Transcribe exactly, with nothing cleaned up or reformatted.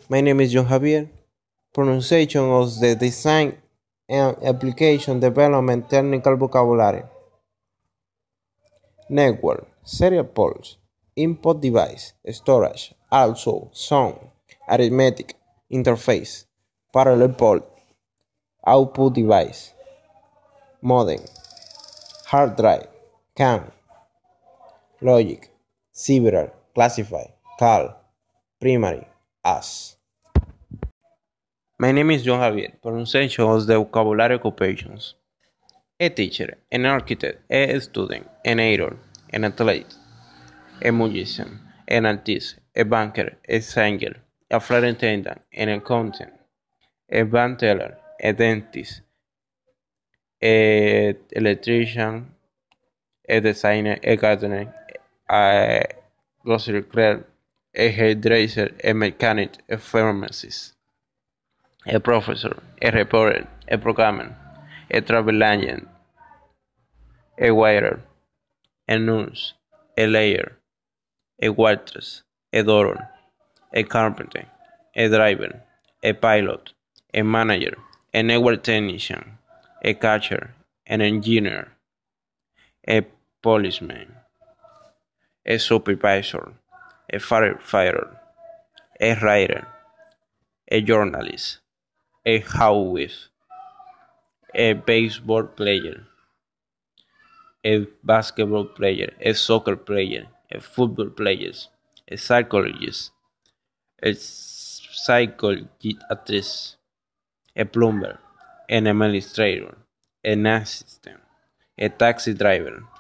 My name is John Javier. Pronunciation of the design and application development technical vocabulary. Network, serial ports, input device, storage, also sound, arithmetic, interface, parallel port, output device, modem, hard drive, C A M, logic, several, classify, call, primary, as. My name is John Javier. Pronunciation of the vocabulary occupations. A teacher, an architect, a student, an actor, an athlete, a musician, an artist, a banker, a singer, a flight attendant, an accountant, a bank teller, a dentist, a electrician, a designer, a gardener, a grocery clerk, a hairdresser, a mechanic, a pharmacist, a professor, a reporter, a programmer, a travel agent, a waiter, a nurse, a layer, a waitress, a doctor, a carpenter, a driver, a pilot, a manager, a network technician, a catcher, an engineer, a policeman, a supervisor, a firefighter, a writer, a journalist, a housewife, a baseball player, a basketball player, a soccer player, a football player, a psychologist, a psychiatrist, a plumber, an administrator, an assistant, a taxi driver,